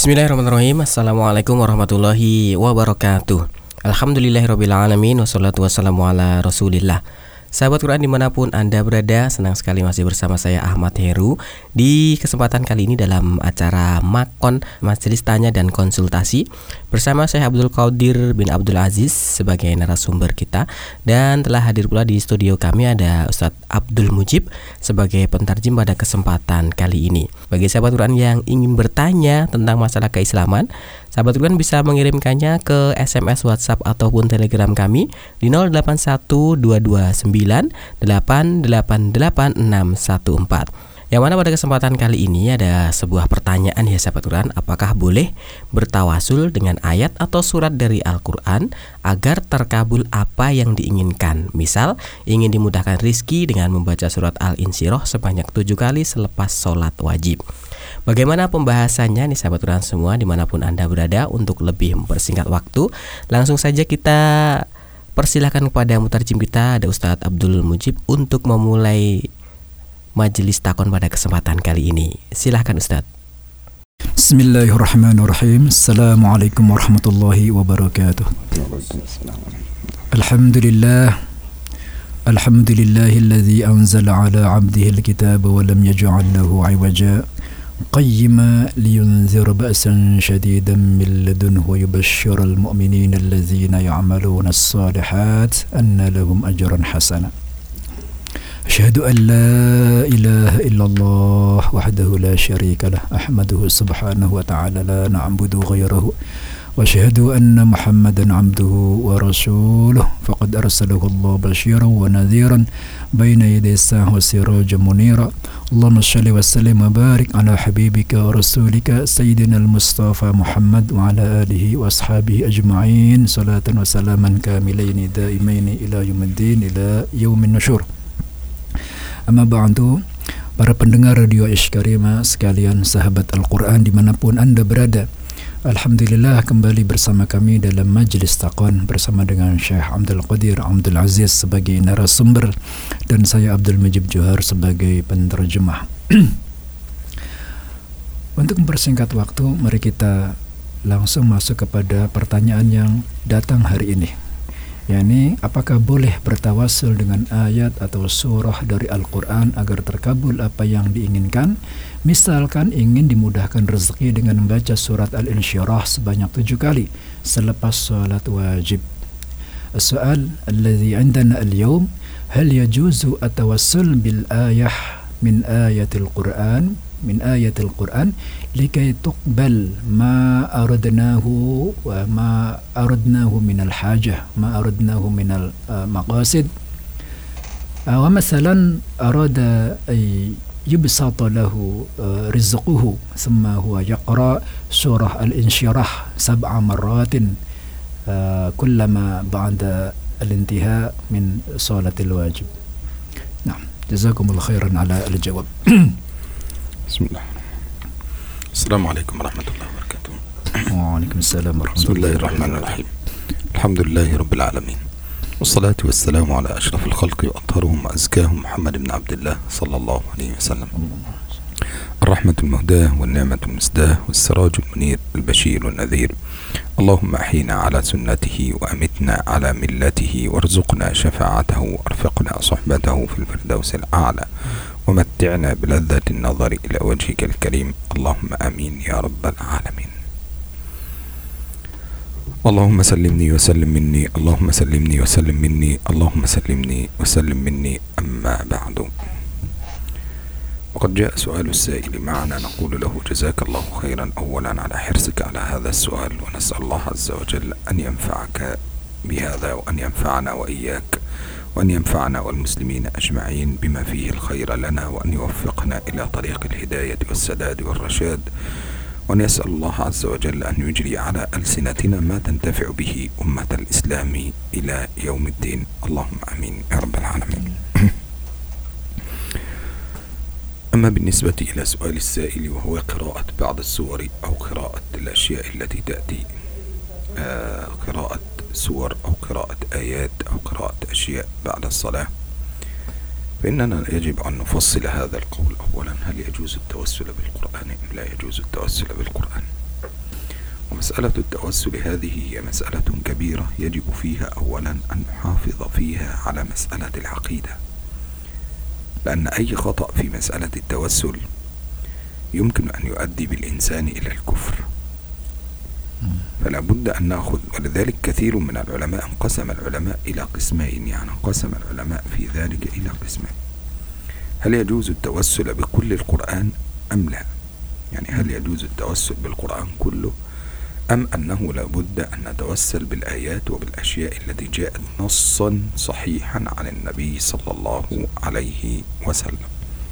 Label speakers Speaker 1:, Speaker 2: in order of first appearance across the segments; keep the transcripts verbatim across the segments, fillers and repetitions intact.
Speaker 1: Bismillahirrahmanirrahim. Assalamualaikum warahmatullahi wabarakatuh. Alhamdulillahirrabbilalamin. Wassalatu wassalamu ala rasulillah. Sahabat Quran dimanapun Anda berada, senang sekali masih bersama saya Ahmad Heru di kesempatan kali ini dalam acara Makon, Majelis Tanya dan Konsultasi, bersama saya Abdul Qadir bin Abdul Aziz sebagai narasumber kita. Dan telah hadir pula di studio kami ada Ustadz Abdul Mujib sebagai pentarjim pada kesempatan kali ini. Bagi sahabat Quran yang ingin bertanya tentang masalah keislaman, sahabat Quran bisa mengirimkannya ke S M S, WhatsApp ataupun Telegram kami di nol delapan satu dua dua sembilan delapan delapan delapan enam satu empat. Yang mana pada kesempatan kali ini ada sebuah pertanyaan ya sahabat Quran, apakah boleh bertawasul dengan ayat atau surat dari Al-Quran agar terkabul apa yang diinginkan? Misal ingin dimudahkan rizki dengan membaca surat Al-Insyirah sebanyak tujuh kali selepas sholat wajib. Bagaimana pembahasannya nih sahabat Quran semua dimanapun Anda berada? Untuk lebih mempersingkat waktu, langsung saja kita persilahkan kepada mutarjim kita, ada Ustadz Abdul Mujib, untuk memulai majelis takon pada kesempatan kali ini. Silahkan Ustadz.
Speaker 2: Bismillahirrahmanirrahim. Assalamualaikum warahmatullahi wabarakatuh. Alhamdulillah. Alhamdulillahilladzi anzala ala abdihi alkitaba wa lam yaj'al lahu 'iwaja qayyima liyunzira ba'san shadidan min ladunhu wa yubashshiral mu'minina allazina ya'maluna as-salihat anna lahum ajran hasana. أشهد أن لا إله إلا الله وحده لا شريك له أحمده سبحانه وتعالى لا نعبد غيره وأشهد أن محمدا عبده ورسوله فقد أرسله الله بشيرا ونذيرا بين يدي الساعة وسراجا منيرا اللهم صل وسلم وبارك على حبيبك ورسولك سيدنا المصطفى محمد وعلى آله وأصحابه أجمعين صلاة وسلاما كاملين دائمين إلى يوم الدين إلى يوم النشور. Amma ba'du, para pendengar Radio Ishkarima sekalian, sahabat Al-Quran dimanapun Anda berada, Alhamdulillah kembali bersama kami dalam Majelis Taqwan bersama dengan Syekh Abdul Qadir Abdul Aziz sebagai narasumber dan saya Abdul Mujib Johar sebagai penterjemah. Untuk mempersingkat waktu, mari kita langsung masuk kepada pertanyaan yang datang hari ini, yakni apakah boleh bertawasul dengan ayat atau surah dari Al-Quran agar terkabul apa yang diinginkan? Misalkan ingin dimudahkan rezeki dengan membaca surat Al-Insyirah sebanyak tujuh kali selepas salat wajib. As-soal alladhi indana al-yawm, hal yajuzu atawassul bil ayah min ayatil Quran min ayatil Quran likay tuqbal ma aradnahu wa ma aradnahu min al-hajah ma aradnahu min al-maqasid wa masalan arada ay yubsata lahu rizquhu thumma huwa yaqra surah al-insyirah sab'a marratin kullama ba'da al-intiha min salatil wajib. Nah, jazakumullahu khairan ala al-jawab.
Speaker 3: Bismillah. Assalamualaikum warahmatullahi wabarakatuh.
Speaker 2: Waalaikumsalam warahmatullahi
Speaker 3: Bismillahirrahmanirrahim. Alhamdulillahi rabbil alamin. Wassalatu wassalamu ala ashrafil khalqi wa atharuhum wa azkahum Muhammad ibn Abdullah sallallahu alaihi wasallam. الرحمة المهداة والنعمة المسداة والسراج المنير البشير والنذير. اللهم أحينا على سنته وأمتنا على ملته وارزقنا شفاعته وارفقنا صحبته في الفردوس الأعلى ومتعنا بلذة النظر إلى وجهك الكريم اللهم آمين يا رب العالمين. اللهم سلمني وسلم مني اللهم سلمني وسلم مني اللهم سلمني وسلم مني. أما بعد، وقد جاء سؤال السائل معنا نقول له جزاك الله خيرا أولا على حرصك على هذا السؤال، ونسأل الله عز وجل أن ينفعك بهذا وأن ينفعنا وإياك وأن ينفعنا والمسلمين أجمعين بما فيه الخير لنا، وأن يوفقنا إلى طريق الهداية والسداد والرشاد، وأن يسأل الله عز وجل أن يجري على ألسنتنا ما تنتفع به أمة الإسلام إلى يوم الدين. اللهم آمين يا رب العالمين. أما بالنسبة إلى سؤال السائل وهو قراءة بعض السور أو قراءة الأشياء التي تأتي آه قراءة سور أو قراءة آيات أو قراءة أشياء بعد الصلاة، فإننا يجب أن نفصل هذا القول. أولا، هل يجوز التوسل بالقرآن أم لا يجوز التوسل بالقرآن؟ ومسألة التوسل هذه هي مسألة كبيرة يجب فيها أولا أن نحافظ فيها على مسألة العقيدة، لأن أي خطأ في مسألة التوسل يمكن أن يؤدي بالإنسان إلى الكفر، فلا بد أن نأخذ. ولذلك كثير من العلماء انقسم العلماء إلى قسمين، يعني انقسم العلماء في ذلك إلى قسمين: هل يجوز التوسل بكل القرآن أم لا؟ يعني هل يجوز التوسل بالقرآن كله، أم أنه لا بد أن نتوسل بالآيات وبالأشياء التي جاءت نصا صحيحا عن النبي صلى الله عليه وسلم.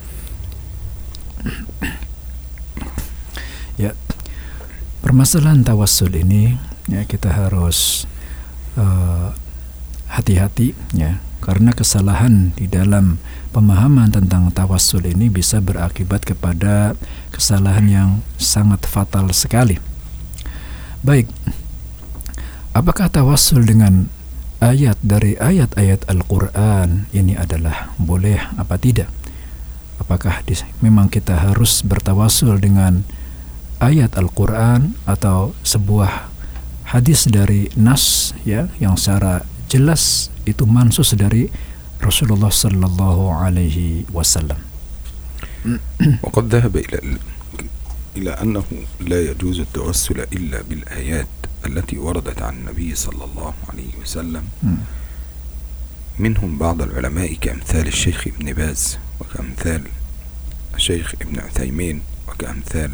Speaker 2: Ya, permasalahan tawassul ini ya kita harus uh, hati-hati ya, karena kesalahan di dalam pemahaman tentang tawassul ini bisa berakibat kepada kesalahan yang sangat fatal sekali. Baik, apakah tawassul dengan ayat dari ayat-ayat Al-Quran ini adalah boleh apa tidak? Apakah di, memang kita harus bertawassul dengan ayat Al-Quran atau sebuah hadis dari nas ya yang secara jelas itu mansus dari Rasulullah sallallahu alaihi wasallam.
Speaker 3: وقد ذهب إلى إلى أنه لا يجوز التوسل إلا بالآيات التي وردت عن النبي صلى الله عليه وسلم، منهم بعض العلماء كأمثال الشيخ ابن باز وكأمثال الشيخ ابن عثيمين وكأمثال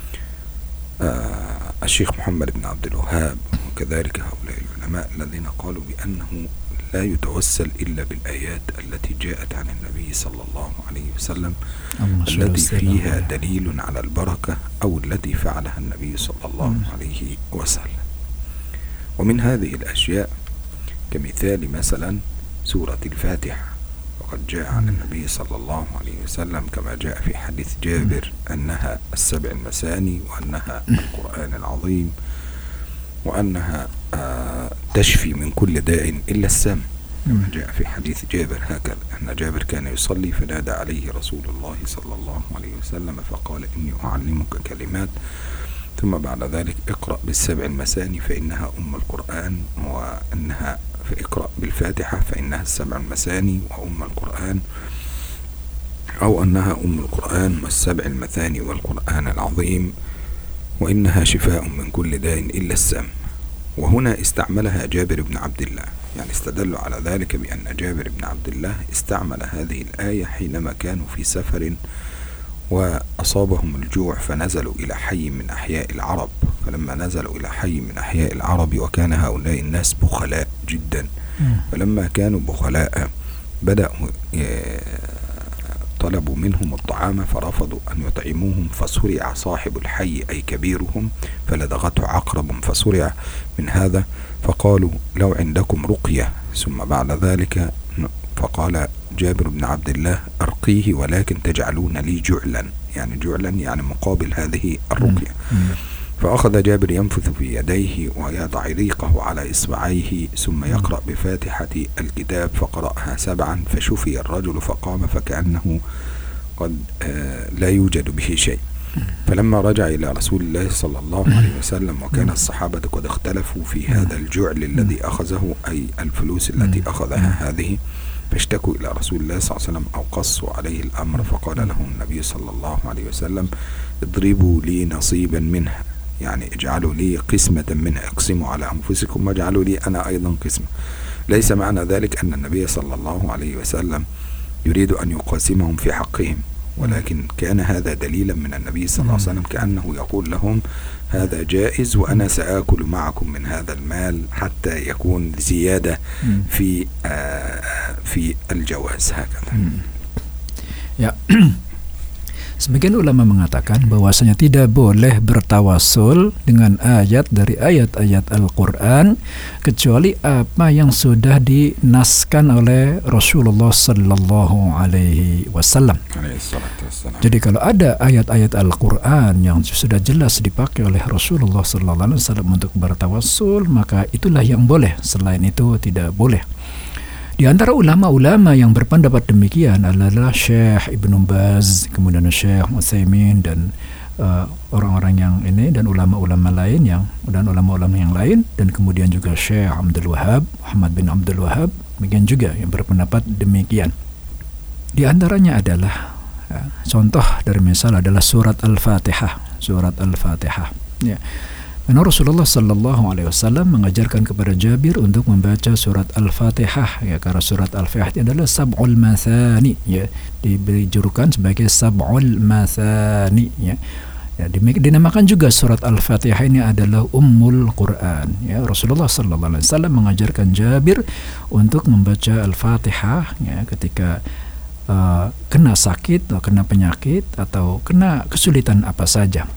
Speaker 3: آه الشيخ محمد بن عبد الوهاب، وكذلك هؤلاء العلماء الذين قالوا بأنه لا يتوسل إلا بالآيات التي جاءت عن النبي صلى الله عليه وسلم التي فيها دليل على البركة أو التي فعلها النبي صلى الله عليه وسلم. ومن هذه الأشياء كمثال مثلا سورة الفاتحة، وقد جاء عن النبي صلى الله عليه وسلم كما جاء في حديث جابر أنها السبع المثاني وأنها القرآن العظيم وأنها آه تشفي من كل داء إلا السم، كما جاء في حديث جابر هكذا أن جابر كان يصلي فنادى عليه رسول الله صلى الله عليه وسلم فقال إني أعلمك كلمات، ثم بعد ذلك اقرأ بالسبع المثاني فإنها أم القرآن، وأنها فاقرأ بالفاتحة فإنها السبع المثاني وأم القرآن، أو أنها أم القرآن والسبع المثاني والقرآن العظيم، وإنها شفاء من كل داء إلا السم. وهنا استعملها جابر بن عبد الله، يعني استدلوا على ذلك بأن جابر بن عبد الله استعمل هذه الآية حينما كانوا في سفر وأصابهم الجوع فنزلوا إلى حي من أحياء العرب، فلما نزلوا إلى حي من أحياء العرب وكان هؤلاء الناس بخلاء جدا، فلما كانوا بخلاء بدأوا طلبوا منهم الطعام فرفضوا أن يطعموهم، فصرع صاحب الحي أي كبيرهم فلدغته عقرب فصرع من هذا، فقالوا لو عندكم رقية، ثم بعد ذلك فقال جابر بن عبد الله أرقيه ولكن تجعلون لي جعلا، يعني جعلا يعني مقابل هذه الرقية. فأخذ جابر ينفث في يديه ويضع ريقه على إصبعيه ثم يقرأ بفاتحة الكتاب فقرأها سبعا فشفي الرجل فقام فكأنه قد لا يوجد به شيء. فلما رجع إلى رسول الله صلى الله عليه وسلم وكان الصحابة قد اختلفوا في هذا الجعل الذي أخذه أي الفلوس التي أخذها هذه، فاشتكوا إلى رسول الله صلى الله عليه وسلم أو قصوا عليه الأمر، فقال لهم النبي صلى الله عليه وسلم اضربوا لي نصيبا منها، يعني اجعلوا لي قسمة منها، اقسموا على أنفسكم واجعلوا لي أنا أيضا قسمة. ليس معنى ذلك أن النبي صلى الله عليه وسلم يريد أن يقاسمهم في حقهم، ولكن كان هذا دليلا من النبي صلى الله عليه وسلم كأنه يقول لهم هذا جائز وأنا سآكل معكم من هذا المال حتى يكون زيادة في آه في الجواز هكذا.
Speaker 2: Ya. Sebagian ulama mengatakan bahwasanya tidak boleh bertawasul dengan ayat dari ayat-ayat Al-Quran kecuali apa yang sudah dinaskan oleh Rasulullah Sallallahu Alaihi Wasallam. Jadi kalau ada ayat-ayat Al-Quran yang sudah jelas dipakai oleh Rasulullah Sallallahu Alaihi Wasallam untuk bertawasul, maka itulah yang boleh. Selain itu tidak boleh. Di antara ulama-ulama yang berpendapat demikian adalah Syekh Ibn Baz, kemudian Syekh Utsaimin dan uh, orang-orang yang ini dan ulama-ulama lain yang dan ulama-ulama yang lain, dan kemudian juga Syekh Abdul Wahab, Muhammad bin Abdul Wahab, demikian juga yang berpendapat demikian. Di antaranya adalah ya, contoh dari misal adalah surat Al-Fatihah, surat Al-Fatihah. Ya. Karena Rasulullah Sallallahu Alaihi Wasallam mengajarkan kepada Jabir untuk membaca surat Al-Fatihah, ya, karena surat Al-Fatihah ini adalah sab'ul mathani, ya, diberi julukan sebagai sab'ul mathani, ya. Ya, dinamakan juga surat Al-Fatihah ini adalah Ummul Quran. Ya, Rasulullah Sallallahu Alaihi Wasallam mengajarkan Jabir untuk membaca Al-Fatihah, ya, ketika uh, kena sakit atau kena penyakit atau kena kesulitan apa saja.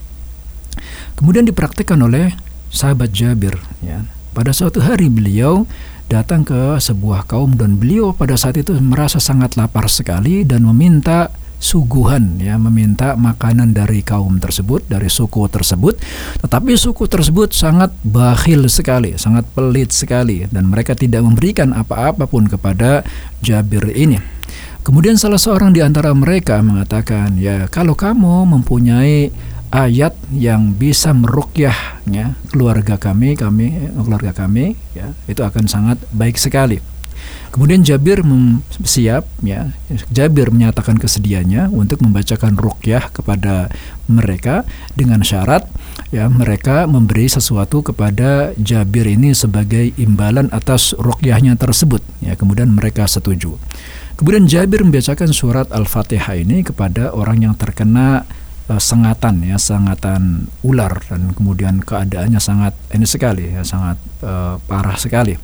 Speaker 2: Kemudian dipraktikkan oleh sahabat Jabir, ya. Pada suatu hari beliau datang ke sebuah kaum dan beliau pada saat itu merasa sangat lapar sekali dan meminta suguhan, ya, meminta makanan dari kaum tersebut, dari suku tersebut. Tetapi suku tersebut sangat bakhil sekali, sangat pelit sekali, dan mereka tidak memberikan apa-apa pun kepada Jabir ini. Kemudian salah seorang di antara mereka mengatakan, ya, kalau kamu mempunyai ayat yang bisa meruqyah, ya, keluarga kami, kami keluarga kami, ya, itu akan sangat baik sekali. Kemudian Jabir mem- siap, ya, Jabir menyatakan kesediaannya untuk membacakan ruqyah kepada mereka dengan syarat, ya, mereka memberi sesuatu kepada Jabir ini sebagai imbalan atas ruqyahnya tersebut, ya. Kemudian mereka setuju. Kemudian Jabir membacakan surat Al-Fatihah ini kepada orang yang terkena Uh, sengatan, ya, sengatan ular, dan kemudian keadaannya sangat ini sekali, ya, sangat uh, parah sekali,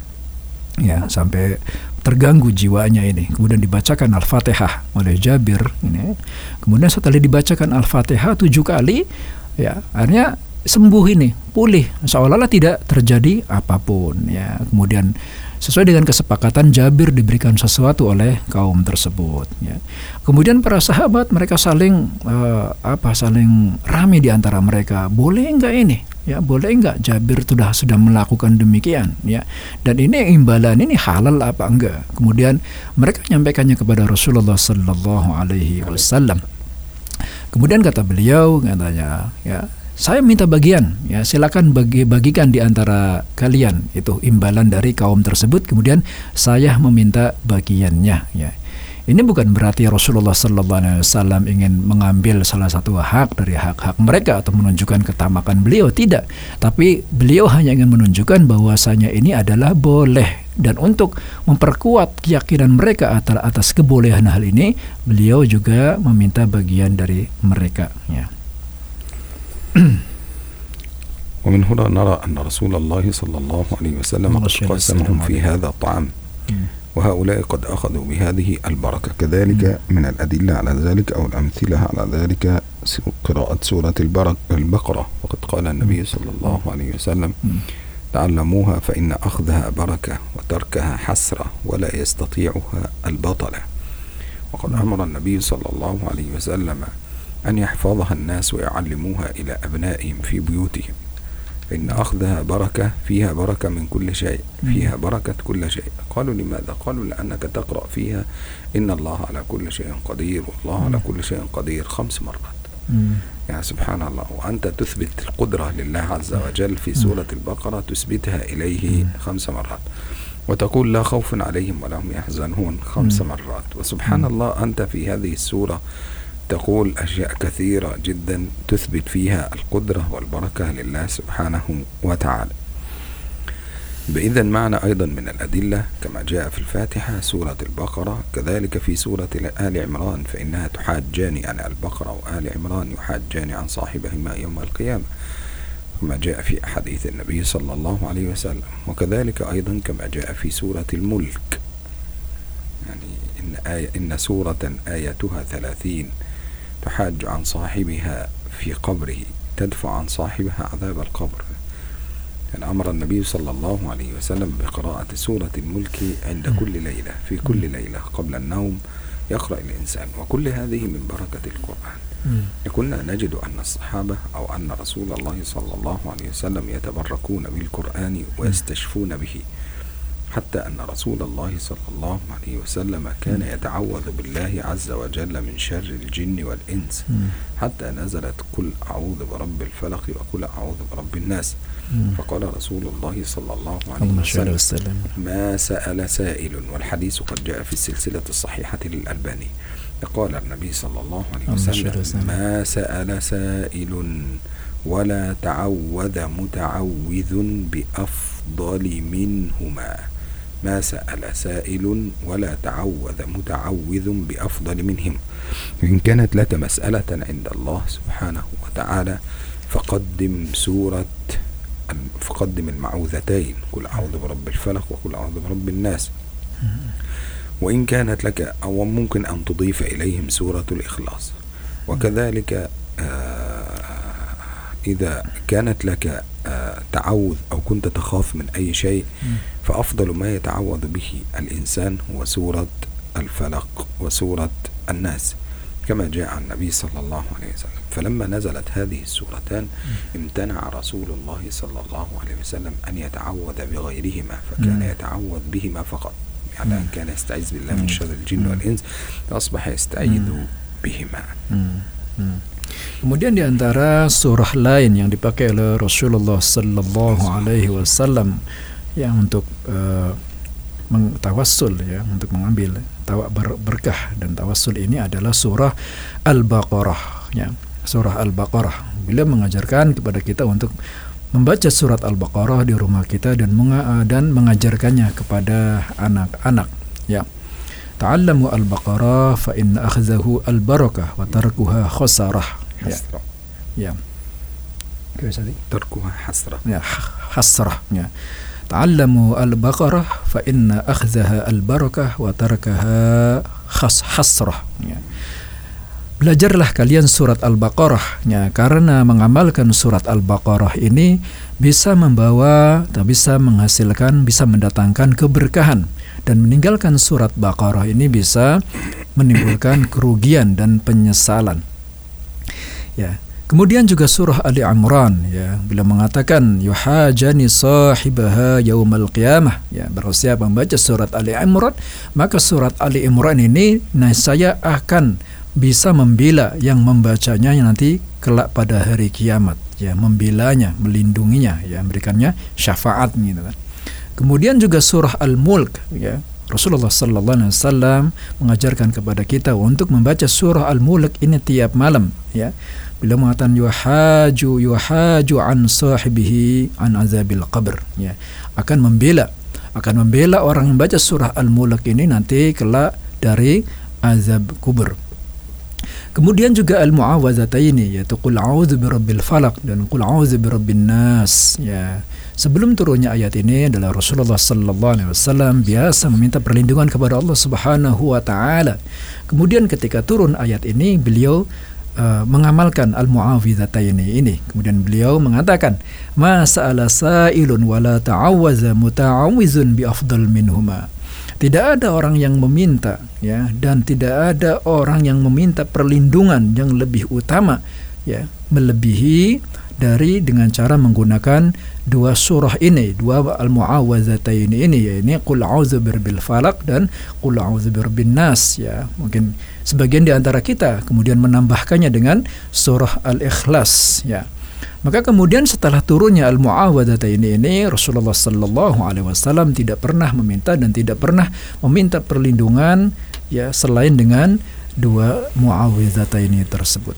Speaker 2: ya, sampai terganggu jiwanya ini. Kemudian dibacakan Al-Fatihah oleh Jabir ini. Kemudian setelah dibacakan Al-Fatihah tujuh kali, ya, akhirnya sembuh ini, pulih, seolah-olah tidak terjadi apapun, ya. Kemudian sesuai dengan kesepakatan Jabir diberikan sesuatu oleh kaum tersebut, ya. Kemudian para sahabat mereka saling uh, apa saling rame di antara mereka, boleh enggak ini, ya, boleh enggak Jabir sudah sudah melakukan demikian, ya, dan ini imbalan ini halal apa enggak. Kemudian mereka menyampaikannya kepada Rasulullah Sallallahu Alaihi Wasallam. Kemudian kata beliau, katanya, ya, saya minta bagian, ya, silakan bagi bagikan di antara kalian itu imbalan dari kaum tersebut. Kemudian saya meminta bagiannya, ya. Ini bukan berarti Rasulullah Sallallahu Alaihi Wasallam ingin mengambil salah satu hak dari hak-hak mereka atau menunjukkan ketamakan beliau, tidak. Tapi beliau hanya ingin menunjukkan bahwasanya ini adalah boleh, dan untuk memperkuat keyakinan mereka atas kebolehan hal ini, beliau juga meminta bagian dari mereka, ya.
Speaker 3: ومن هنا نرى أن رسول الله صلى الله عليه وسلم قد قسمهم في هذا الطعام، وهؤلاء قد أخذوا بهذه البركة. كذلك من الأدلة على ذلك أو الأمثلة على ذلك قراءة سورة البقرة، وقد قال النبي صلى الله عليه وسلم تعلموها فإن أخذها بركة وتركها حسرة ولا يستطيعها البطلة. وقد أمر النبي صلى الله عليه وسلم أن يحفظها الناس ويعلموها إلى أبنائهم في بيوتهم، فإن أخذها بركة، فيها بركة من كل شيء، فيها بركة كل شيء. قالوا لماذا؟ قالوا لأنك تقرأ فيها إن الله على كل شيء قدير، والله على كل شيء قدير خمس مرات. يعني سبحان الله، وأنت تثبت القدرة لله عز وجل في سورة البقرة، تثبتها إليه خمس مرات، وتقول لا خوف عليهم ولا هم يحزنون خمس مرات. وسبحان الله، أنت في هذه السورة تقول أشياء كثيرة جدا تثبت فيها القدرة والبركة لله سبحانه وتعالى. بإذن معنا أيضا من الأدلة كما جاء في الفاتحة سورة البقرة، كذلك في سورة آل عمران، فإنها تحاجان عن البقرة وآل عمران يحاجان عن صاحبهما يوم القيامة، كما جاء في حديث النبي صلى الله عليه وسلم. وكذلك أيضا كما جاء في سورة الملك، يعني إن, آية إن سورة آياتها ثلاثين تحاج عن صاحبها في قبره، تدفع عن صاحبها عذاب القبر. يعني أمر النبي صلى الله عليه وسلم بقراءة سورة الملك عند كل ليلة، في كل ليلة قبل النوم يقرأ الإنسان، وكل هذه من بركة القرآن. كنا نجد أن الصحابة أو أن رسول الله صلى الله عليه وسلم يتبركون بالقرآن ويستشفون به. حتى أن رسول الله صلى الله عليه وسلم كان يتعوذ بالله عز وجل من شر الجن والإنس حتى نزلت قل أعوذ برب الفلق وقل أعوذ برب الناس. فقال رسول الله صلى الله عليه وسلم ما سأل سائل، والحديث قد جاء في السلسلة الصحيحة للألباني. قال النبي صلى الله عليه وسلم ما سأل سائل ولا تعوذ متعوذ بأفضل منهما. ما سأل سائل ولا تعوذ متعوذ بأفضل منهم. إن كانت لك مسألة عند الله سبحانه وتعالى فقدم سورة فقدم المعوذتين، قل أعوذ برب الفلق وقل أعوذ برب الناس. وإن كانت لك أو ممكن أن تضيف إليهم سورة الإخلاص. وكذلك إذا كانت لك تعوذ أو كنت تخاف من أي شيء فأفضل ما يتعوذ به الإنسان هو سورة الفلق وسورة الناس كما جاء عن النبي صلى الله عليه وسلم. فلما نزلت هذه السورتان امتنع رسول الله صلى الله عليه وسلم أن يتعوذ بغيرهما، فكان يتعوذ بهما فقط. يعني كان يستعيذ بالله من شر الجن والإنس فأصبح يستعيذ بهما.
Speaker 2: Kemudian di antara surah lain yang dipakai oleh Rasulullah sallallahu alaihi wasallam yang untuk uh, tawassul ya, untuk mengambil tawa ber berkah dan tawassul ini adalah surah Al-Baqarah ya. Surah Al-Baqarah. Beliau mengajarkan kepada kita untuk membaca surat Al-Baqarah di rumah kita dan menga dan mengajarkannya kepada anak-anak ya. Ta'allamu al-baqarah fa inna akhzahu al-barakah wa tarkuha khasarah. Ya. Ya.
Speaker 3: Tarkuha hasrah.
Speaker 2: Ya, hasrah ya. Ta'allamu al-baqarah fa inna akhzaha al-barakah wa tarkaha khas hasrah ya. Belajarlah kalian surat Al-Baqarah ya, karena mengamalkan surat Al-Baqarah ini bisa membawa atau bisa menghasilkan, bisa mendatangkan keberkahan, dan meninggalkan surat Baqarah ini bisa menimbulkan kerugian dan penyesalan. Ya. Kemudian juga surah Ali Imran ya, bila mengatakan yuhajani sahibaha yaumal qiyamah ya, barang siapa membaca surat Ali Imran, maka surat Ali Imran ini nah saya akan bisa membela yang membacanya nanti kelak pada hari kiamat ya, membelanya, melindunginya ya, memberikannya syafaat gitu kan. Kemudian juga surah Al-Mulk ya, Rasulullah sallallahu alaihi wasallam mengajarkan kepada kita untuk membaca surah Al-Mulk ini tiap malam ya. Bila mengatakan yuhaju yuhaju an sahibihi an azabil qabr ya, akan membela akan membela orang yang baca surah Al-Mulk ini nanti kelak dari azab kubur. Kemudian juga al-mu'awwadzataini yaitu qul a'udzu birabbil falaq dan qul a'udzu birabbin nas ya. Sebelum turunnya ayat ini adalah Rasulullah sallallahu alaihi wasallam biasa meminta perlindungan kepada Allah Subhanahu wa taala. Kemudian ketika turun ayat ini beliau uh, mengamalkan al-mu'awwadzataini ini. Kemudian beliau mengatakan ma sa'ala sa'ilun wala ta'awwaza muta'awwizun bi afdal minhuma. Tidak ada orang yang meminta ya, dan tidak ada orang yang meminta perlindungan yang lebih utama ya, melebihi dari dengan cara menggunakan dua surah ini, dua al-mu'awwadzataini ini, yaitu qul a'udzu birabbil falaq dan qul a'udzu birabbin nas ya. Mungkin sebagian di antara kita kemudian menambahkannya dengan surah Al-Ikhlas ya. Maka kemudian setelah turunnya al-mu'awwadzataini ini, Rasulullah sallallahu alaihi wasallam tidak pernah meminta dan tidak pernah meminta perlindungan ya selain dengan dua mu'awwadzataini tersebut.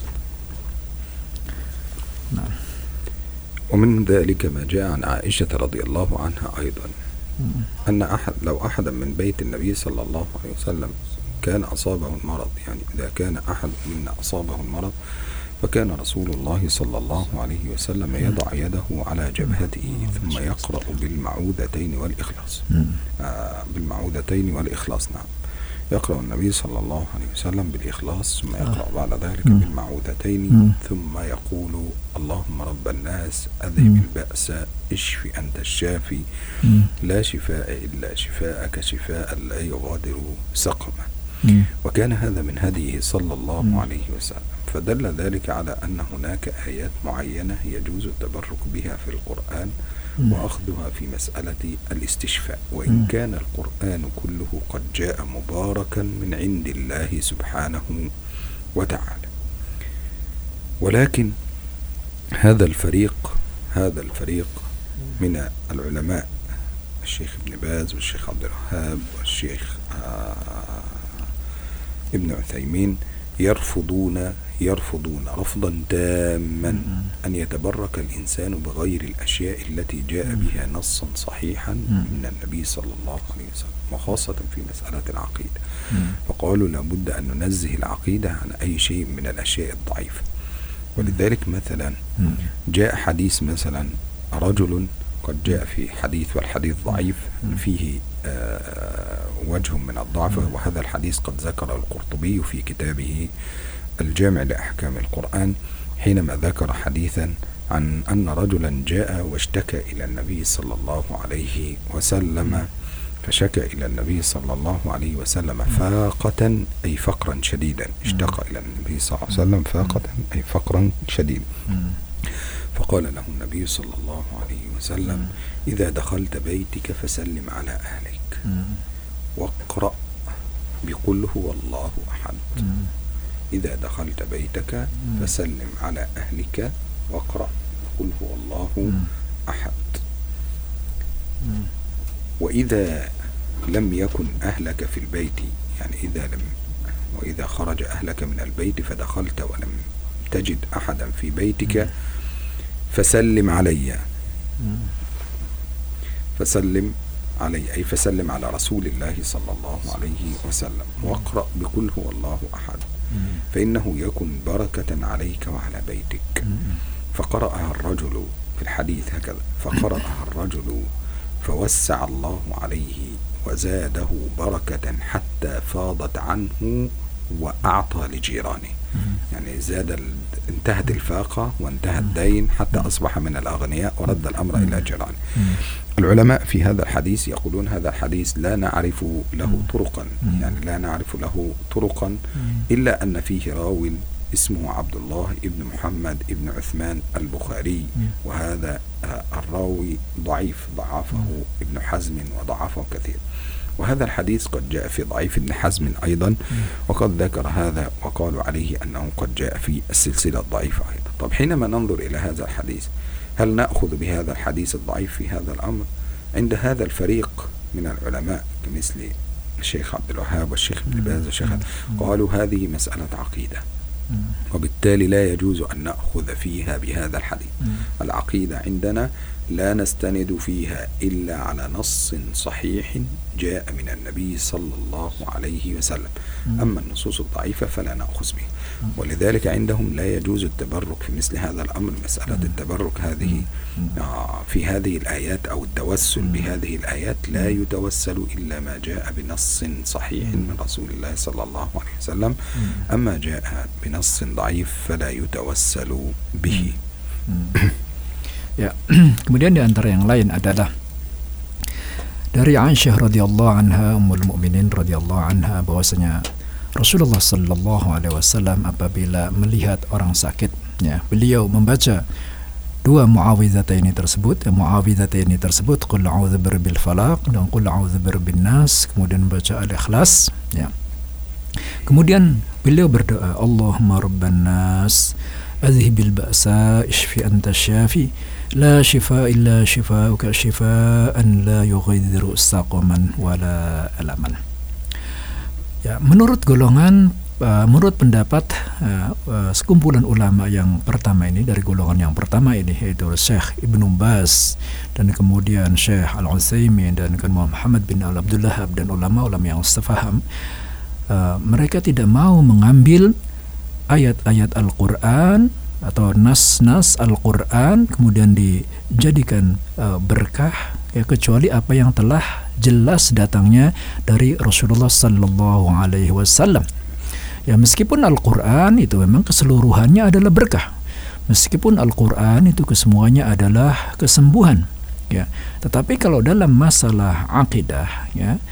Speaker 2: Nah.
Speaker 3: ومن ذلك ما جاء عن عائشة رضي الله عنها أيضا أن أحد لو أحدا من بيت النبي صلى الله عليه وسلم كان أصابه المرض، يعني إذا كان أحد منا أصابه المرض فكان رسول الله صلى الله عليه وسلم يضع يده على جبهته ثم يقرأ بالمعوذتين والإخلاص آه بالمعوذتين والإخلاص نعم يقرأ النبي صلى الله عليه وسلم بالإخلاص ثم يقرأ بعد ذلك بالمعوذتين ثم يقول اللهم رب الناس أذهب البأس اشف أنت الشافي لا شفاء إلا شفاءك شفاء لا يغادر سقما. وكان هذا من هديه صلى الله عليه وسلم، فدل ذلك على أن هناك آيات معينة يجوز التبرك بها في القرآن وأخذها في مسألة الاستشفاء، وإن كان القرآن كله قد جاء مباركا من عند الله سبحانه وتعالى. ولكن هذا الفريق هذا الفريق من العلماء، الشيخ ابن باز والشيخ عبد الوهاب والشيخ آه ابن عثيمين يرفضون يرفضون رفضا تاما أن يتبرك الإنسان بغير الأشياء التي جاء بها نصا صحيحا من النبي صلى الله عليه وسلم، وخاصة في مسألة العقيدة. فقالوا لابد أن ننزه العقيدة عن أي شيء من الأشياء الضعيفة. ولذلك مثلا جاء حديث، مثلا رجل قد جاء في حديث والحديث ضعيف فيه آه وجه من الضعف، وهذا الحديث قد ذكر القرطبي في كتابه الجامع لأحكام القرآن حينما ذكر حديثا عن أن رجلا جاء واشتكى إلى النبي صلى الله عليه وسلم فشكى إلى النبي صلى الله عليه وسلم فاقة أي فقرا شديدا، اشتكى إلى النبي صلى الله عليه وسلم فاقة أي فقرا شديدا، فقال له النبي صلى الله عليه وسلم إذا دخلت بيتك فسلم على أهلك واقرأ بقل هو الله أحد. إذا دخلت بيتك فسلم على أهلك واقرأ بقل هو الله أحد. وإذا لم يكن أهلك في البيت، يعني إذا لم وإذا خرج أهلك من البيت فدخلت ولم تجد أحدا في بيتك فسلم علي فسلم علي أي فسلم على رسول الله صلى الله عليه وسلم واقرأ بقل هو الله أحد، فإنه يكن بركة عليك وعلى بيتك. فقرأها الرجل في الحديث هكذا، فقرأها الرجل فوسع الله عليه وزاده بركة حتى فاضت عنه وأعطى لجيرانه، يعني زاد ال... انتهت الفاقة وانتهى الدين حتى أصبح من الأغنياء ورد الأمر إلى جيرانه. العلماء في هذا الحديث يقولون هذا الحديث لا نعرف له طرقا، يعني لا نعرف له طرقا إلا أن فيه راو اسمه عبد الله ابن محمد ابن عثمان البخاري، وهذا الراوي ضعيف، ضعفه ابن حزم وضعفه كثير. وهذا الحديث قد جاء في ضعيف ابن حزم أيضا، وقد ذكر هذا وقالوا عليه أنه قد جاء في السلسلة الضعيفة أيضا. طب حينما ننظر إلى هذا الحديث هل نأخذ بهذا الحديث الضعيف في هذا الأمر؟ عند هذا الفريق من العلماء كمثل الشيخ عبد الوهاب والشيخ ابن باز والشيخ قالوا هذه مسألة عقيدة، وبالتالي لا يجوز أن نأخذ فيها بهذا الحديث. العقيدة عندنا لا نستند فيها إلا على نص صحيح جاء من النبي صلى الله عليه وسلم، أما النصوص الضعيفة فلا نأخذ بها. ولذلك عندهم لا يجوز التبرك في مثل هذا الأمر. مسألة التبرك هذه في هذه الآيات أو التوسل بهذه الآيات لا يتوسل إلا ما جاء بنص صحيح من رسول الله صلى الله عليه وسلم، أما جاء بنص ضعيف فلا يتوسل به.
Speaker 2: Ya, kemudian di antara yang lain adalah dari Aisyah radhiyallahu anha, ummul mukminin radhiyallahu anha, bahwasanya Rasulullah sallallahu alaihi wasallam apabila melihat orang sakit, ya, beliau membaca dua muawwidhataini tersebut, ya, muawwidhataini tersebut qul a'udzu birabbil falaq dan qul a'udzu birabbin nas, kemudian membaca al-ikhlas, ya. Kemudian beliau berdoa, Allahumma rabban nas adhibil ba'sa ishfi anta syafi la shifa illa shifauka shifaan la yughadiru saqaman wala alaman. Ya, menurut golongan uh, menurut pendapat uh, uh, sekumpulan ulama yang pertama ini, dari golongan yang pertama ini yaitu Syekh Ibnu Baz dan kemudian Syekh Al-Utsaimin dan kemudian Muhammad bin Al-Abdullah dan ulama-ulama yang sefaham, uh, mereka tidak mau mengambil ayat-ayat Al-Quran atau nas-nas Al-Quran kemudian dijadikan uh, berkah, ya, kecuali apa yang telah jelas datangnya dari Rasulullah sallallahu alaihi wasallam. Ya, meskipun Al-Quran itu memang keseluruhannya adalah berkah, meskipun Al-Quran itu kesemuanya adalah kesembuhan, ya, tetapi kalau dalam masalah akidah, ya,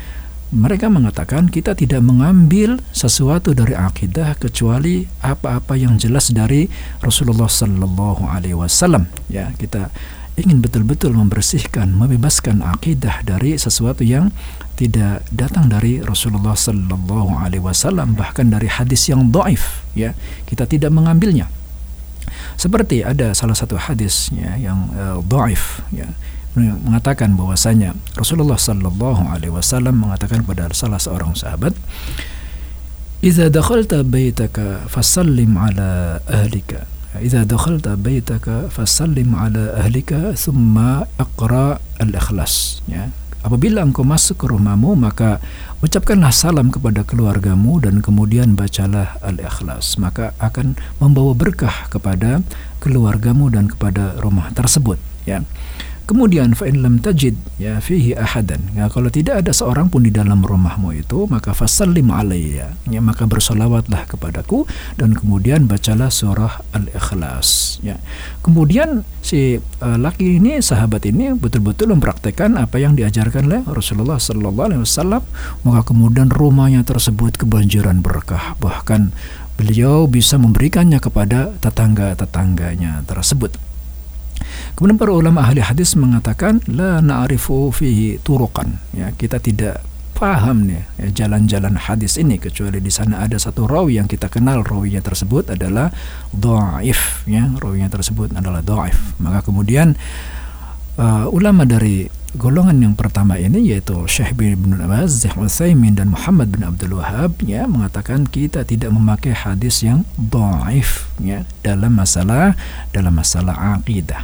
Speaker 2: mereka mengatakan kita tidak mengambil sesuatu dari akidah kecuali apa-apa yang jelas dari Rasulullah Sallallahu Alaihi Wasallam. Ya, kita ingin betul-betul membersihkan, membebaskan akidah dari sesuatu yang tidak datang dari Rasulullah Sallallahu Alaihi Wasallam, bahkan dari hadis yang dhaif. Ya, kita tidak mengambilnya. Seperti ada salah satu hadis ya, yang uh, dhaif, ya, mengatakan bahwasanya Rasulullah Sallallahu Alaihi Wasallam mengatakan kepada salah seorang sahabat, "Idza dakhalta baitaka fasallim ala ahlika, idza dakhalta baitaka fasallim ala ahlika, thumma aqra al-ikhlas." Ya, apabila engkau masuk ke rumahmu, maka ucapkanlah salam kepada keluargamu dan kemudian bacalah al-ikhlas, maka akan membawa berkah kepada keluargamu dan kepada rumah tersebut. Ya. Kemudian fa in lam tajid ya fihi ahadan, ya, kalau tidak ada seorang pun di dalam rumahmu itu, maka fasallim alayya, ya, maka bersolawatlah kepadaku dan kemudian bacalah surah Al-Ikhlas. Ya. Kemudian si uh, laki ini, sahabat ini betul-betul mempraktekkan apa yang diajarkan oleh Rasulullah Sallallahu Alaihi Wasallam, maka kemudian rumahnya tersebut kebanjiran berkah, bahkan beliau bisa memberikannya kepada tetangga-tetangganya tersebut. Kemudian para ulama ahli hadis mengatakan la na'rifu fihi turuqan, ya, kita tidak paham nih ya, jalan-jalan hadis ini kecuali di sana ada satu rawi yang kita kenal, rawinya tersebut adalah dhaif, ya, rawinya tersebut adalah dhaif. Maka kemudian uh, ulama dari golongan yang pertama ini yaitu Syekh bin Baz, Utsaimin dan Muhammad bin Abdul Wahhab, ya, mengatakan kita tidak memakai hadis yang dhaif, ya, dalam masalah dalam masalah akidah.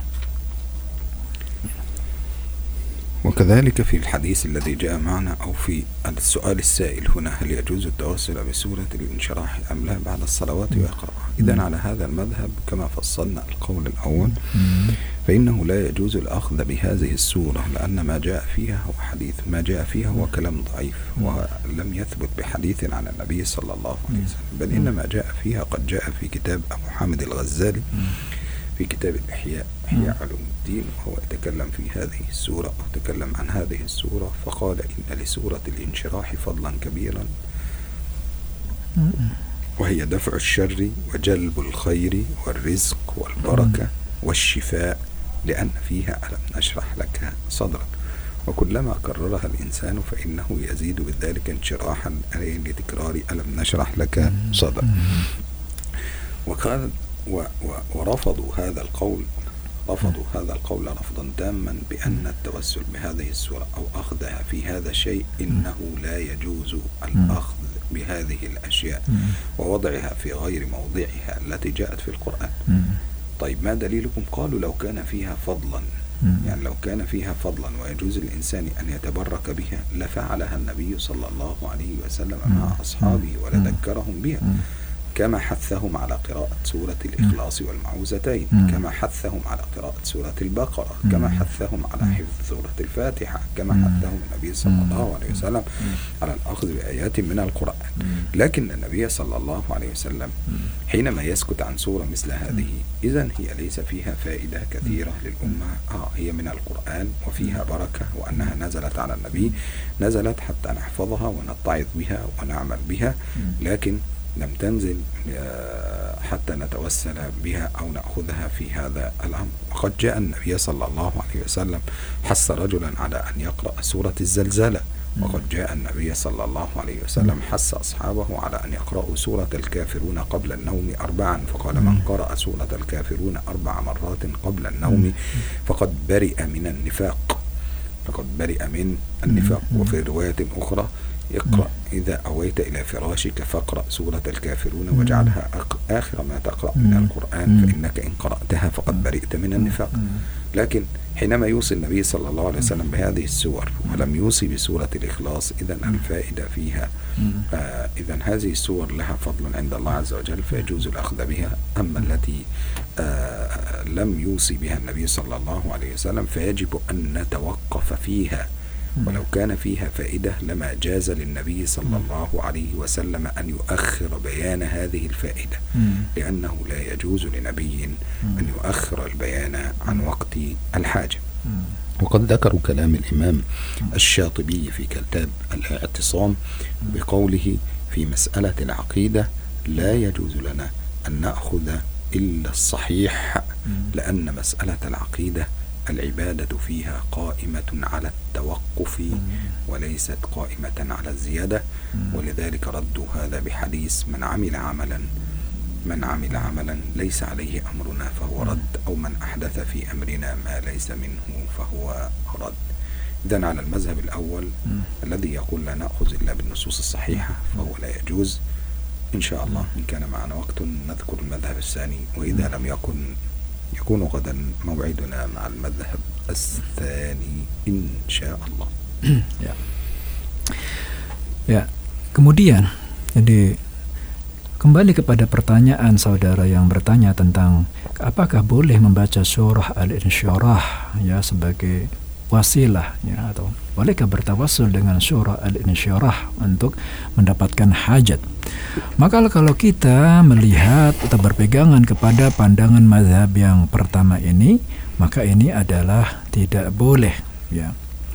Speaker 3: وكذلك في الحديث الذي جاء معنا أو في السؤال السائل هنا، هل يجوز التوسل بسورة الانشراح أم لا بعد الصلوات ويقرأها؟ إذن على هذا المذهب كما فصلنا القول الأول فإنه لا يجوز الأخذ بهذه السورة، لأن ما جاء فيها هو حديث، ما جاء فيها هو كلام ضعيف ولم يثبت بحديث عن النبي صلى الله عليه وسلم، بل إنما جاء فيها قد جاء في كتاب أبو حامد الغزالي في كتاب الإحياء، إحياء علوم الدين، وهو يتكلم في هذه السورة أو تكلم عن هذه السورة فقال إن لسورة الانشراح فضلا كبيرا وهي دفع الشر وجلب الخير والرزق والبركة والشفاء، لأن فيها ألم نشرح لك صدرك، وكلما كررها الإنسان فإنه يزيد بذلك انشراحا لتكرار ألم نشرح لك صدرك. وقال و و ورفضوا هذا القول رفضوا هذا القول رفضا تاما بأن التوسل بهذه السورة أو أخذها في هذا الشيء إنه لا يجوز الأخذ بهذه الأشياء ووضعها في غير موضعها التي جاءت في القرآن. طيب ما دليلكم؟ قالوا لو كان فيها فضلا، يعني لو كان فيها فضلا ويجوز الإنسان أن يتبرك بها لفعلها النبي صلى الله عليه وسلم مع أصحابه ولذكرهم بها، كما حثهم على قراءة سورة الإخلاص والمعوذتين، كما حثهم على قراءة سورة البقرة، كما حثهم على حفظ سورة الفاتحة، كما حثهم النبي صلى الله عليه وسلم على الأخذ بآيات من القرآن. لكن النبي صلى الله عليه وسلم حينما يسكت عن سورة مثل هذه إذن هي ليس فيها فائدة كثيرة للأمة، آه هي من القرآن وفيها بركة، وأنها نزلت على النبي، نزلت حتى نحفظها ونتعظ بها ونعمل بها، لكن لم تنزل حتى نتوسل بها أو نأخذها في هذا الأمر. وقد جاء النبي صلى الله عليه وسلم حث رجلا على أن يقرأ سورة الزلزلة، وقد جاء النبي صلى الله عليه وسلم حث أصحابه على أن يقرأوا سورة الكافرون قبل النوم أربعا، فقال من قرأ سورة الكافرون أربع مرات قبل النوم فقد برئ من النفاق، فقد برئ من النفاق. وفي رواية أخرى اقرأ إذا أويت إلى فراشك فاقرأ سورة الكافرون واجعلها آخر ما تقرأ من القرآن فإنك إن قرأتها فقد برئت من النفاق. لكن حينما يوصي النبي صلى الله عليه وسلم بهذه السور ولم يوصي بسورة الإخلاص، إذن الفائدة فيها آه إذن هذه السور لها فضل عند الله عز وجل فيجوز الأخذ بها. أما التي آه لم يوصي بها النبي صلى الله عليه وسلم فيجب أن نتوقف فيها، ولو كان فيها فائدة لما جاز للنبي صلى الله عليه وسلم أن يؤخر بيان هذه الفائدة، لأنه لا يجوز لنبي أن يؤخر البيان عن وقت الحاجة. وقد ذكروا كلام الإمام الشاطبي في كتاب الاعتصام بقوله في مسألة العقيدة: لا يجوز لنا أن نأخذ إلا الصحيح، لأن مسألة العقيدة العبادة فيها قائمة على التوقف وليست قائمة على الزيادة، ولذلك ردوا هذا بحديث: من عمل عملا من عمل عملا ليس عليه أمرنا فهو رد، أو من أحدث في أمرنا ما ليس منه فهو رد. إذن على المذهب الأول الذي يقول لا نأخذ إلا بالنصوص الصحيحة فهو لا يجوز. إن شاء الله إن كان معنا وقت نذكر المذهب الثاني، وإذا لم يكن يكون غدا موعدنا مع المذهب الثاني إن شاء الله.
Speaker 2: Ya. Ya. Kemudian, jadi kembali kepada pertanyaan saudara yang bertanya tentang apakah boleh membaca surah Al-Insyirah ya sebagai wasilah ya, atau bolehkah bertawassul dengan surah Al-Insyirah untuk mendapatkan hajat. Maka kalau kita melihat atau berpegangan kepada pandangan mazhab yang pertama ini, maka ini adalah tidak boleh ya.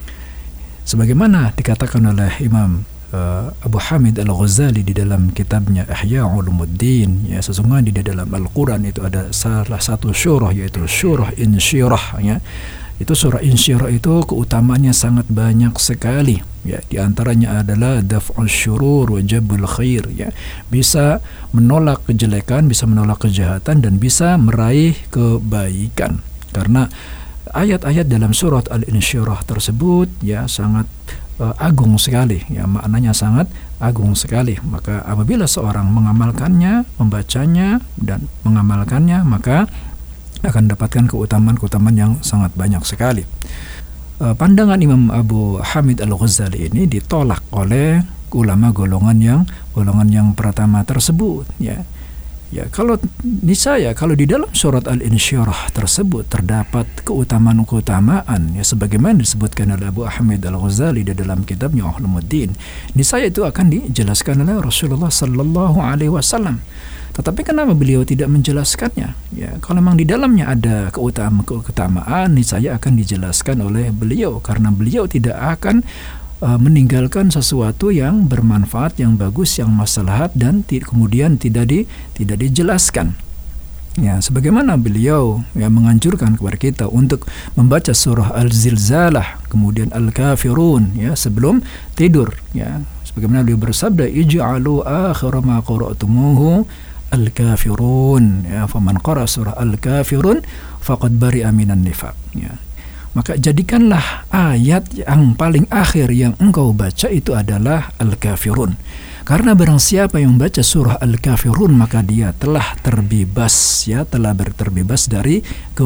Speaker 2: Sebagaimana dikatakan oleh Imam uh, Abu Hamid Al-Ghazali di dalam kitabnya Ihya Ulumuddin ya, sesungguhnya di dalam Al-Quran itu ada salah satu surah, yaitu surah Insyirah ya. Itu surah Insyirah itu keutamaannya sangat banyak sekali ya. Di antaranya adalah daf'us syurur wa jabul khair ya. Bisa menolak kejelekan, bisa menolak kejahatan, dan bisa meraih kebaikan. Karena ayat-ayat dalam surat Al-Insyirah tersebut ya sangat uh, agung sekali ya, maknanya sangat agung sekali. Maka apabila seorang mengamalkannya, membacanya dan mengamalkannya, maka akan dapatkan keutamaan-keutamaan yang sangat banyak sekali. Uh, pandangan Imam Abu Hamid Al-Ghazali ini ditolak oleh ulama golongan yang golongan yang pertama tersebut ya. Ya, kalau niscaya kalau di dalam surat Al-Insyirah tersebut terdapat keutamaan-keutamaan ya sebagaimana disebutkan oleh Abu Hamid Al-Ghazali di dalam kitabnya Ulumuddin, niscaya itu akan dijelaskan oleh Rasulullah sallallahu alaihi wasallam. Tetapi kenapa beliau tidak menjelaskannya? Ya, kalau memang di dalamnya ada keutamaan-keutamaan, niscaya akan dijelaskan oleh beliau, karena beliau tidak akan uh, meninggalkan sesuatu yang bermanfaat, yang bagus, yang maslahat, dan t- kemudian tidak di tidak dijelaskan. Ya, sebagaimana beliau ya menganjurkan kepada kita untuk membaca surah Al-Zilzalah, kemudian Al-Kafirun ya sebelum tidur ya. Sebagaimana beliau bersabda, ij'alu akhir ma qara'tumuhu Al-Kafirun ya, faman qara surah Al-Kafirun faqad bari'a minan nifaq ya. Maka jadikanlah ayat yang paling akhir yang engkau baca itu adalah Al-Kafirun. Karena barang siapa yang baca surah Al-Kafirun, maka dia telah terbebas ya, telah terbebas dari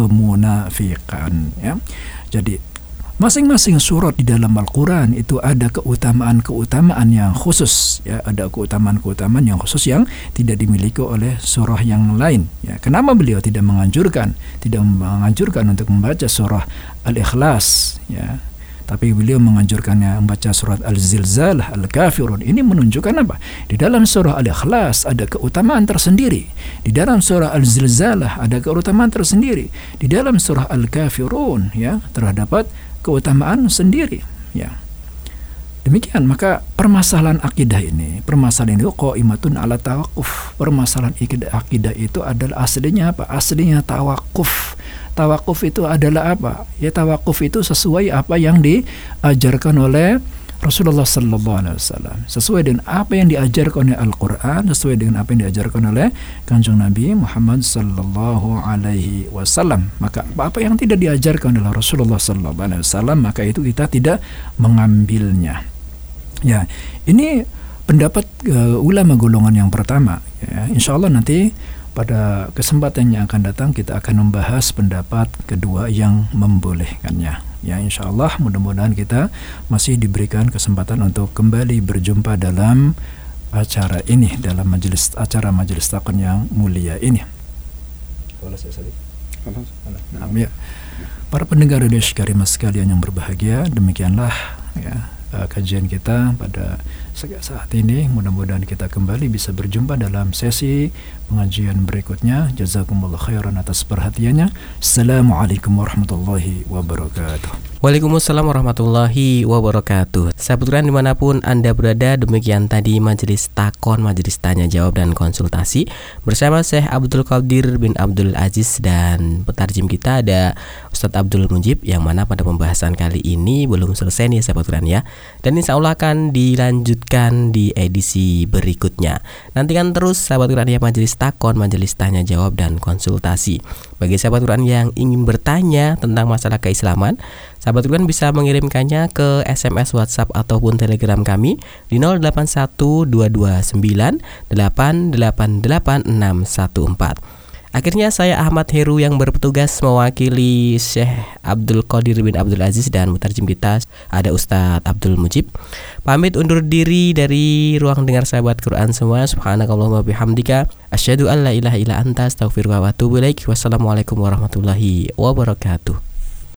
Speaker 2: kemunafikan ya. Jadi masing-masing surat di dalam Al-Quran itu ada keutamaan-keutamaan yang khusus ya, ada keutamaan-keutamaan yang khusus yang tidak dimiliki oleh surah yang lain ya. Kenapa beliau tidak menganjurkan tidak menganjurkan untuk membaca surah Al-Ikhlas ya, tapi beliau menganjurkannya membaca surat Al-Zilzalah, Al-Kafirun. Ini menunjukkan apa? Di dalam surah Al-Ikhlas ada keutamaan tersendiri, di dalam surah Al-Zilzalah ada keutamaan tersendiri, di dalam surah Al-Kafirun ya terdapat keutamaan sendiri ya. Demikian, maka permasalahan akidah ini, permasalahan itu qaimatun ala tawakuf. Permasalahan akidah itu adalah aslinya apa? Aslinya tawakuf. Tawakuf itu adalah apa? Ya, tawakuf itu sesuai apa yang diajarkan oleh Rasulullah sallallahu alaihi wasallam, sesuai dengan apa yang diajarkan oleh Al-Quran, sesuai dengan apa yang diajarkan oleh Kanjeng Nabi Muhammad sallallahu alaihi wasallam. Maka apa yang tidak diajarkan oleh Rasulullah sallallahu alaihi wasallam, maka itu kita tidak mengambilnya. Ya, ini pendapat uh, ulama golongan yang pertama. Ya, insya Allah nanti pada kesempatan yang akan datang kita akan membahas pendapat kedua yang membolehkannya. Ya, insya Allah mudah-mudahan kita masih diberikan kesempatan untuk kembali berjumpa dalam acara ini, dalam majelis acara majelis takon yang mulia ini. Nah, ya. Para pendengar radio Karimah sekalian yang berbahagia, demikianlah ya uh, kajian kita pada saat ini. Mudah-mudahan kita kembali bisa berjumpa dalam sesi pengajian berikutnya. Jazakumullah khairan atas perhatiannya. Assalamualaikum warahmatullahi wabarakatuh.
Speaker 1: Waalaikumsalam warahmatullahi wabarakatuh. Sahabat Quran dimanapun Anda berada, demikian tadi majelis takon, majelis tanya jawab dan konsultasi bersama Syekh Abdul Qadir bin Abdul Aziz, dan petarjim kita ada Ustadz Abdul Mujib, yang mana pada pembahasan kali ini belum selesai nih sahabat Quran ya, dan insya Allah akan dilanjutkan di edisi berikutnya. Nantikan terus sahabat Quran ya majelis takon, majelis tanya jawab dan konsultasi. Bagi sahabat Quran yang ingin bertanya tentang masalah keislaman, sahabat Quran bisa mengirimkannya ke S M S, WhatsApp ataupun Telegram kami di nol delapan satu dua dua sembilan delapan delapan delapan enam satu empat. Akhirnya saya Ahmad Heru yang bertugas mewakili Syekh Abdul Qadir bin Abdul Aziz, dan mutarjim kita ada Ustadz Abdul Mujib, pamit undur diri dari ruang dengar sahabat Quran semua. Subhanakallahumma bihamdika asyhadu an la ilaha illa anta astaghfiruka wa atubu ilaik. Wassalamualaikum warahmatullahi wabarakatuh.